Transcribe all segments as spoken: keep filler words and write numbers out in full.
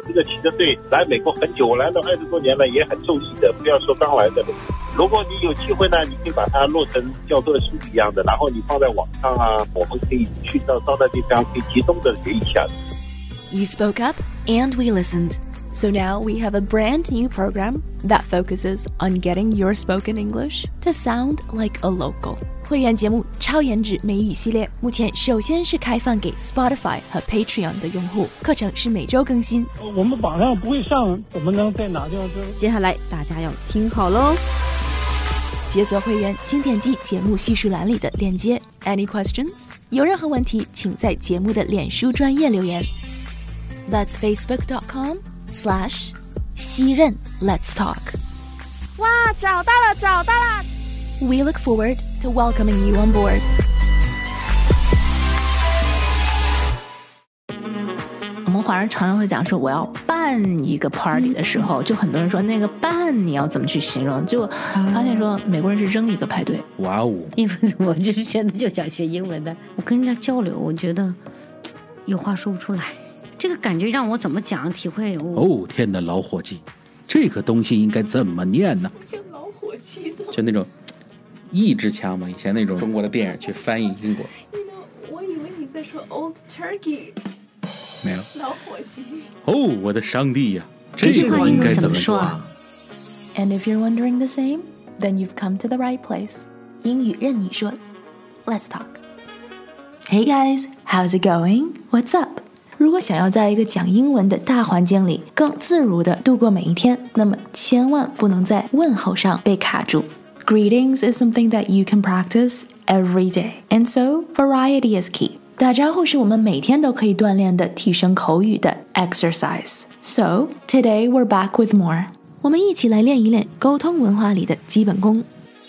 这个骑着队来美国很久，我来了二十多年了，也很受益的，不要说刚来的了。如果你有机会呢，你可以把它落成教科书一样的，然后你放在网上啊，我们可以去到到那地方可以集中的学一下。 You spoke up and we listened. So now we have a brand new program that focuses on getting your spoken English to sound like a local. 会员节目超颜值美语系列目前首先是开放给 Spotify 和 Patreon 的用户，课程是每周更新。 我们榜上不会上，怎么能在哪掉这？ 接下来大家要听好喽！ 解锁会员请点击节目叙述栏里的链接。 Any questions？ 有任何问题请在节目的脸书专页留言。 That's facebook.com slash 西任 Let's talk。 哇，找到了找到了 We look forward to welcoming you on board。 我们华人常常会讲说我要办一个 party 的时候，就很多人说那个办你要怎么去形容，就发现说美国人是扔一个派对。 哇哦！ 因为我就是现在就想学英文的，我跟人家交流，我觉得有话说不出来，这个感觉让我怎么讲体会。 哦天哪，老伙计，这个东西应该怎么念呢？ 叫老伙计的， 就那种意志腔嘛，以前那种中国的电影去翻译英国。 You know, 我以为你在说 Old Turkey。 没有老伙计。 哦，我的上帝呀， 这句话应该怎么说啊 And if you're wondering the same, then you've come to the right place. 英语任你说 Let's talk. Hey guys, how's it going? What's up? 如果想要在一个讲英文的大环境里更自如地度过每一天，那么千万不能在问候上被卡住。Greetings is something that you can practice every day. And so, variety is key. 打招呼是我们每天都可以锻炼的提升口语的 exercise. So, today we're back with more. 我们一起来练一练沟通文化里的基本功。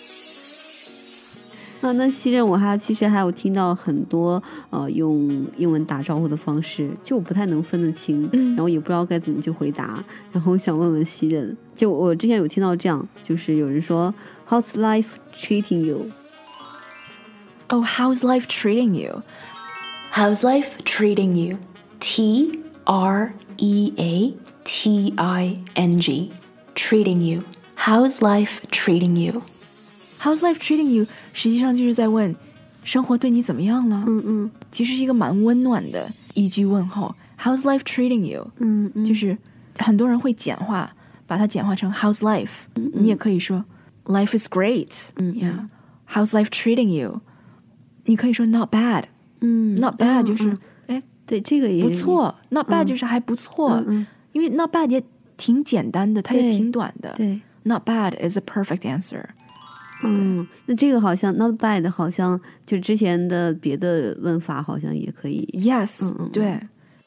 啊，那西任我还其实还有听到很多呃用英文打招呼的方式，就我不太能分得清， 嗯， 然后也不知道该怎么去回答，然后想问问西任，就我之前有听到这样，就是有人说 How's life treating you? Oh, how's life treating you? How's life treating you? T R E A T I N G. Treating you. How's life treating you? How's life treating you? 实际上就是在问生活对你怎么样了。 嗯嗯， 其实是一个蛮温暖的一句问候。How's life treating you? 嗯嗯， 就是很多人会简化，把它简化成 How's life? 嗯嗯， 你也可以说 Life is great. 嗯 Yeah. How's life treating you? 你可以说 Not bad. 嗯 Not bad 就是、 嗯嗯、哎对，这个也不错。Not bad 嗯就是还不错。 嗯嗯， 因为 Not bad 也挺简单的，它也挺短的。 对 Not bad is a perfect answer. 嗯，那这个好像 not bad 好像就之前的别的问法好像也可以。 Yes，、 嗯嗯、 对。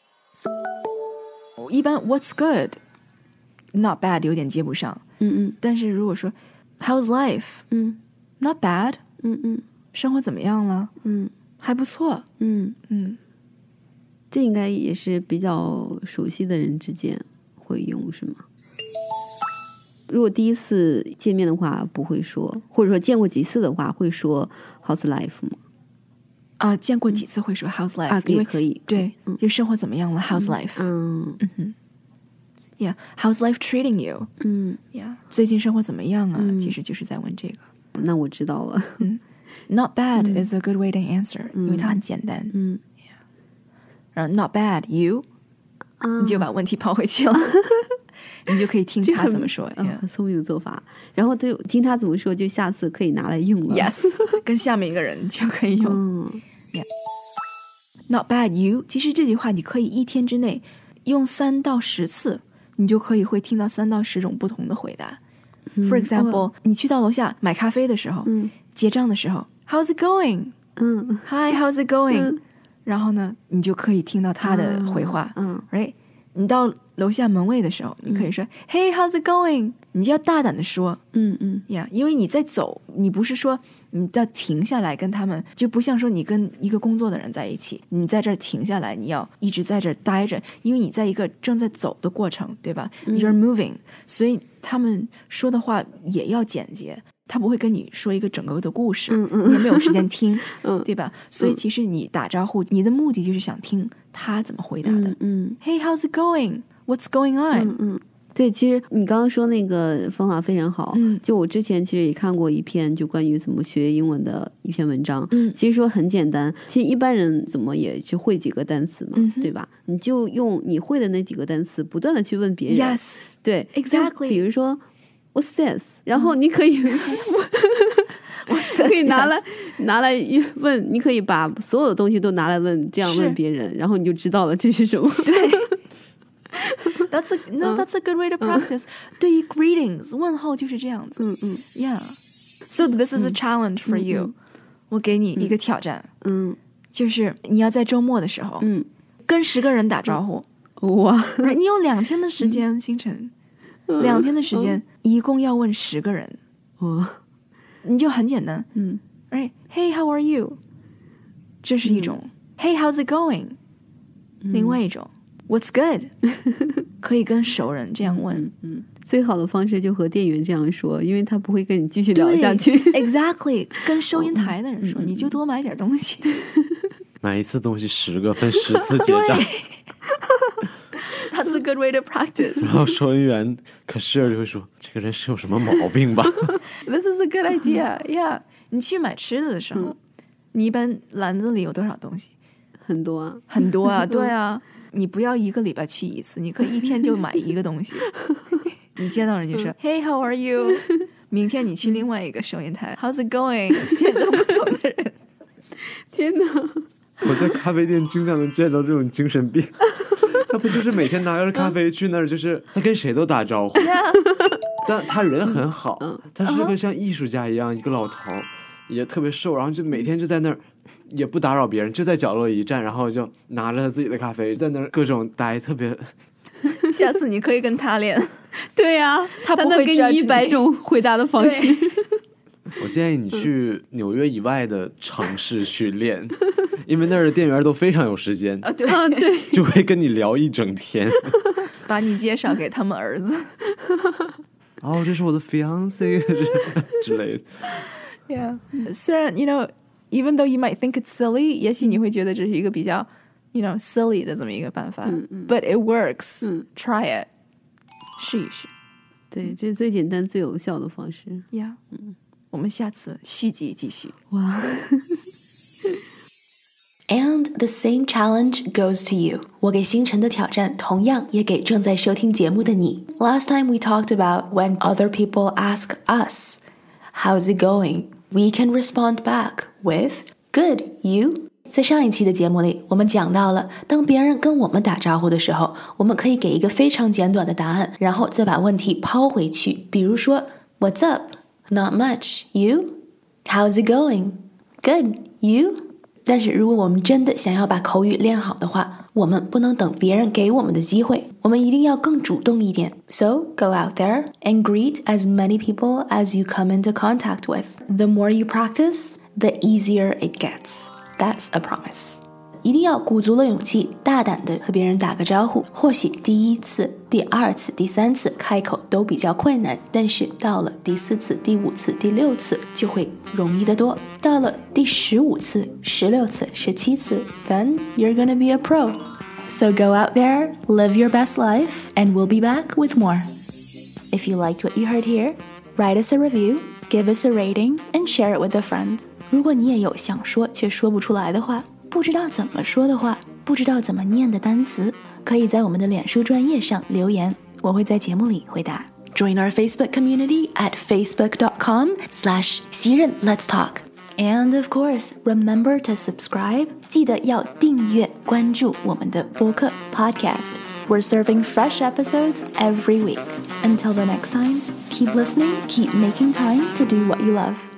一般 What's good? Not bad 有点接不上。 嗯嗯， 但是如果说 How's life? 嗯 Not bad. 嗯嗯， 生活怎么样了？ 嗯还不错。 嗯嗯， 这应该也是比较熟悉的人之间会用，是吗？如果第一次见面的话不会说，或者说见过几次的话会说 How's life 吗？ 啊，见过几次会说 How's life？、 啊， 因为可以， 对， 嗯， 就生活怎么样了 How's life？ 嗯嗯哼 ，Yeah，How's life treating you？ 嗯 Yeah， 最近生活怎么样啊？ 嗯其实就是在问这个。 那我知道了。 嗯 Not bad、 嗯、 is a good way to answer，、 嗯、 因为它很简单。 嗯， yeah. 然后 Not bad you，、 啊、 你就把问题抛回去了，你就可以听他怎么说。 很、 yeah. 很聪明的做法。然后对听他怎么说，就下次可以拿来用了。 Yes， 跟下面一个人就可以用。 嗯 yeah. Not bad you， 其实这句话你可以一天之内用三到十次，你就可以会听到三到十种不同的回答。 嗯、 For example，、 哦、 你去到楼下买咖啡的时候， 嗯， 结账的时候 ，How's it going？ 嗯 ，Hi how's it going？、 嗯、 然后呢，你就可以听到他的回话。 嗯 ，right？ 你到楼下门卫的时候，你可以说、嗯、Hey how's it going？ 你就要大胆的说， 嗯嗯呀， yeah, 因为你在走，你不是说你要停下来跟他们，就不像说你跟一个工作的人在一起，你在这儿停下来，你要一直在这儿待着，因为你在一个正在走的过程，对吧、嗯、？You're moving， 所以他们说的话也要简洁，他不会跟你说一个整个的故事， 嗯嗯， 你也没有时间听， 嗯， 对吧？所以其实你打招呼，你的目的就是想听他怎么回答的。 嗯, 嗯 ，Hey how's it going？ What's going on？ 嗯嗯，对，其实你刚刚说那个方法非常好。 嗯， 就我之前其实也看过一篇就关于怎么学英文的一篇文章。 嗯， 其实说很简单，其实一般人怎么也就会几个单词嘛， 嗯、 对吧？你就用你会的那几个单词，不断的去问别人。 Yes， 对 ，exactly。 比如说 What's this？ 然后你可以。 嗯可以拿来拿来问，你可以把所有的东西都拿来问，这样问别人，然后你就知道了这是什么。 对，That's a no,、嗯、that's a good way to practice、嗯。对于 greetings 问候就是这样子。 嗯嗯 ，Yeah。So this is a challenge for you、嗯。我给你一个挑战， 嗯， 就是你要在周末的时候， 嗯， 跟十个人打招呼。 哇、 嗯，你有两天的时间，星辰，嗯、两天的时间、嗯，一共要问十个人。 哇。 你就很简单， 嗯 ，Right? Hey, how are you? 这是一种、嗯、Hey, how's it going? 嗯、 另外一种 What's good? 可以跟熟人这样问。 嗯, 嗯，最好的方式就和店员这样说，因为他不会跟你继续聊下去。 Exactly， 跟收银台的人说，嗯、你就多买点东西。 买一次东西十个，分十次结账。 That's a good way to practice. 然后收银员 cashier 就会说，这个人是有什么毛病吧 ？This is a good idea. Yeah. 你去买吃的的时候、嗯，你一般篮子里有多少东西？ 很多啊， 很多啊，对啊。你不要一个礼拜去一次，你可以一天就买一个东西。你见到人就说 Hey, how are you? 明天你去另外一个收银台 How's it going? 见个不同的人。 天哪！ 我在咖啡店经常能见到这种精神病。他不就是每天拿着咖啡去那儿，就是他跟谁都打招呼， yeah. 但他人很好，他是个像艺术家一样，一个老头也特别瘦，然后就每天就在那儿也不打扰别人，就在角落一站，然后就拿着他自己的咖啡在那儿各种呆，特别。 下次你可以跟他练。 对呀、啊， 他不会给你一百种回答的方式。 我建议你去纽约以外的城市去练，因为那儿的店员都非常有时间啊，对啊，对， 就会跟你聊一整天， 把你介绍给他们儿子。 哦，这是我的 fiance 之类的。 Yeah， 虽然 you know even though you might think it's silly， 也许你会觉得这是一个比较 you know silly 的这么一个办法、嗯嗯、，but it works、嗯。Try it， 试一试。 对，这是最简单、最有效的方式。 Yeah， 嗯。我们下次续集继续。 哇 ！And the same challenge goes to you. 我给星辰的挑战同样也给正在收听节目的你。Last time we talked about when other people ask us, "How's it going?" We can respond back with "Good, you?" 在上一期的节目里，我们讲到了，当别人跟我们打招呼的时候，我们可以给一个非常简短的答案，然后再把问题抛回去。比如说 "What's up?"Not much. You? How's it going? Good. You? 但是如果我们真的想要把口语练好的话，我们不能等别人给我们的机会，我们一定要更主动一点。So go out there and greet as many people as you come into contact with. The more you practice, the easier it gets. That's a promise. 一定要鼓足了勇气，大胆地和别人打个招呼。或许第一次、第二次、第三次开口都比较困难，但是到了第四次、第五次、第六次就会容易得多。到了第十五次、十六次、十七次 then you're gonna be a pro. So go out there, live your best life, and we'll be back with more. If you liked what you heard here, write us a review, give us a rating, and share it with a friend. 如果你也有想说却说不出来的话，不知道怎么说的话，不知道怎么念的单词，可以在我们的脸书专页上留言，我会在节目里回答。Join our Facebook community at facebook.com slash 袭人 Let's Talk. And of course, remember to subscribe. 记得要订阅关注我们的播客 podcast. We're serving fresh episodes every week. Until the next time, keep listening, keep making time to do what you love.